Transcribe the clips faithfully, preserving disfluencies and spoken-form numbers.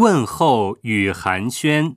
问候与寒暄。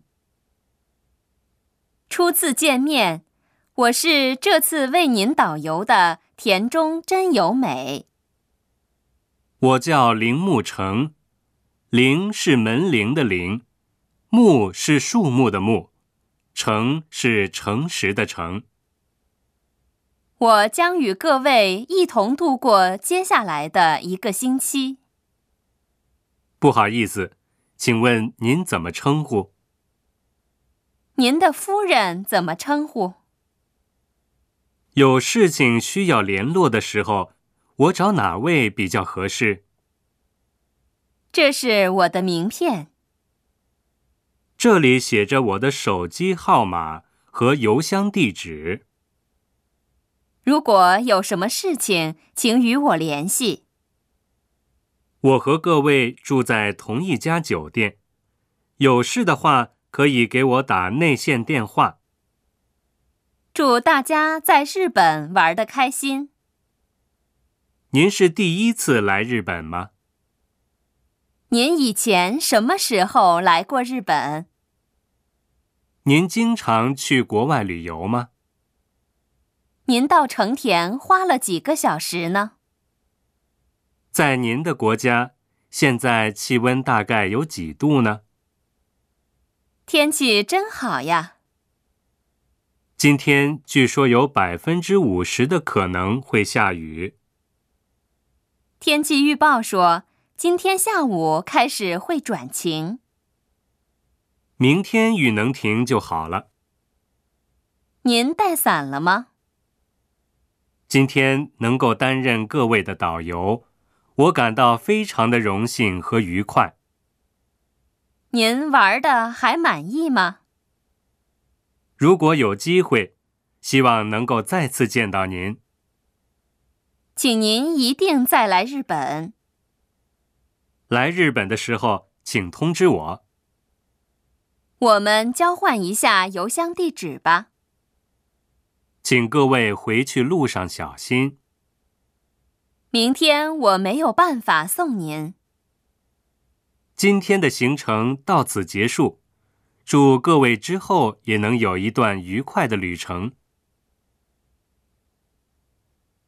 初次见面，我是这次为您导游的田中真由美。 我叫铃木成，铃是门铃的铃，木是树木的木，诚是诚实的诚。 我将与各位一同度过接下来的一个星期。 不好意思，请问您怎么称呼？ 您的夫人怎么称呼？ 有事情需要联络的时候，我找哪位比较合适？ 这是我的名片。 这里写着我的手机号码和邮箱地址。 如果有什么事情，请与我联系。 我和各位住在同一家酒店，有事的话可以给我打内线电话。 祝大家在日本玩得开心。 您是第一次来日本吗？ 您以前什么时候来过日本？ 您经常去国外旅游吗？ 您到成田花了几个小时呢？ 在您的国家，现在气温大概有几度呢？ 天气真好呀。 今天据说有百分之五十的可能会下雨。 天气预报说，今天下午开始会转晴。 明天雨能停就好了。 您带伞了吗？ 今天能够担任各位的导游，我感到非常的荣幸和愉快。 您玩得还满意吗？ 如果有机会，希望能够再次见到您。 请您一定再来日本。 来日本的时候，请通知我。 我们交换一下邮箱地址吧。 请各位回去路上小心。 明天我没有办法送您。 今天的行程到此结束，祝各位之后也能有一段愉快的旅程。